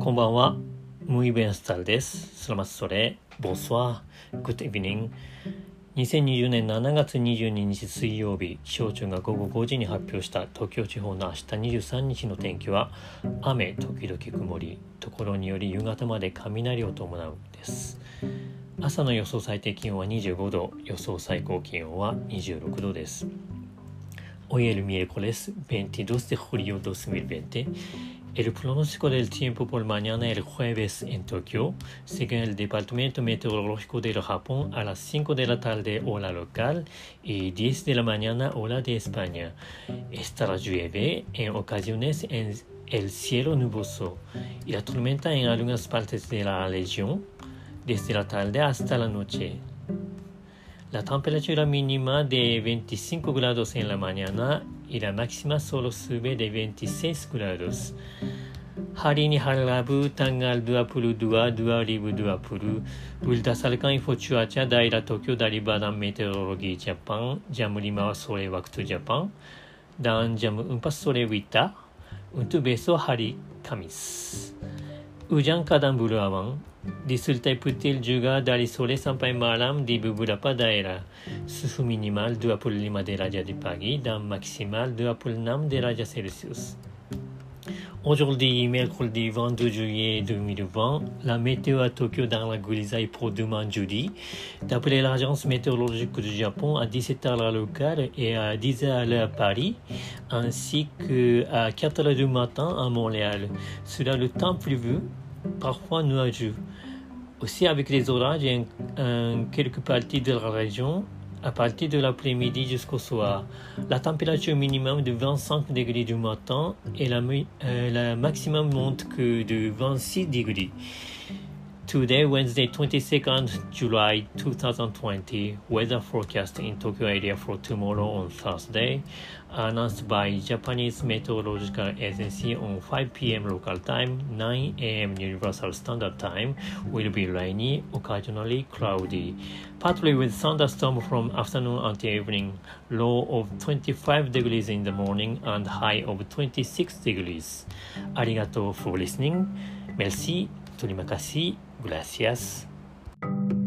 こんばんは。Muy buenas tardes. Selamat sore. Bonsoir. Good evening. 2020年7月22日水曜日、気象庁が午後5時に発表した東京地方の明日23日の天気は雨時々曇り、ところにより夕方まで雷を伴うです。朝の予想最低気温は25度、予想最高気温は26度です。Hoy el miércoles 22 de julio 2020.El pronóstico del tiempo por mañana el jueves en Tokio, según el Departamento Meteorológico del Japón, a las 5 de la tarde hora local y 10 de la mañana hora de España. Estará llueve en ocasiones en el cielo nuboso y la tormenta en algunas partes de la región desde la tarde hasta la noche.La temperatura mínima de 25 grados en la mañana y la máxima solo sube de 26 grados. Hari ni harap tanggal 22/2020 berdasarkan info cuaca daerah Tokyo dari Badan Meteorologi Jepang jam 5 sore waktu Jepang dan jam 4 sore WITA untuk besok hari Kamis. Hujan kadang berawan.Disertai petir juga dari sore sampai malam di beberapa daerah. Suhu minimal 25 derajat di pagi dan maksimal 26 derajat Celsius. Aujourd'hui, mercredi 22 juillet 2020, la météo à Tokyo dans la grisaille pour demain jeudi. D'après l'agence météorologique du Japon, à 17h à locale et à 10h à Paris, ainsi qu'à 4h du matin à Montréal. Sera le temps prévu.Parfois nuageux. Aussi avec les orages en quelques parties de la région à partir de l'après-midi jusqu'au soir. La température minimum de 25 degrés du matin et la maximum monte que de 26 degrés. Today, Wednesday, 22nd July 2020, weather forecast in Tokyo area for tomorrow on Thursday, announced by Japanese Meteorological Agency on 5 p.m. local time, 9 a.m. Universal Standard Time, will be rainy, occasionally cloudy. Partly with thunderstorm from afternoon until evening, low of 25 degrees in the morning and high of 26 degrees. Arigato for listening. Merci. Terima kasih. Gracias.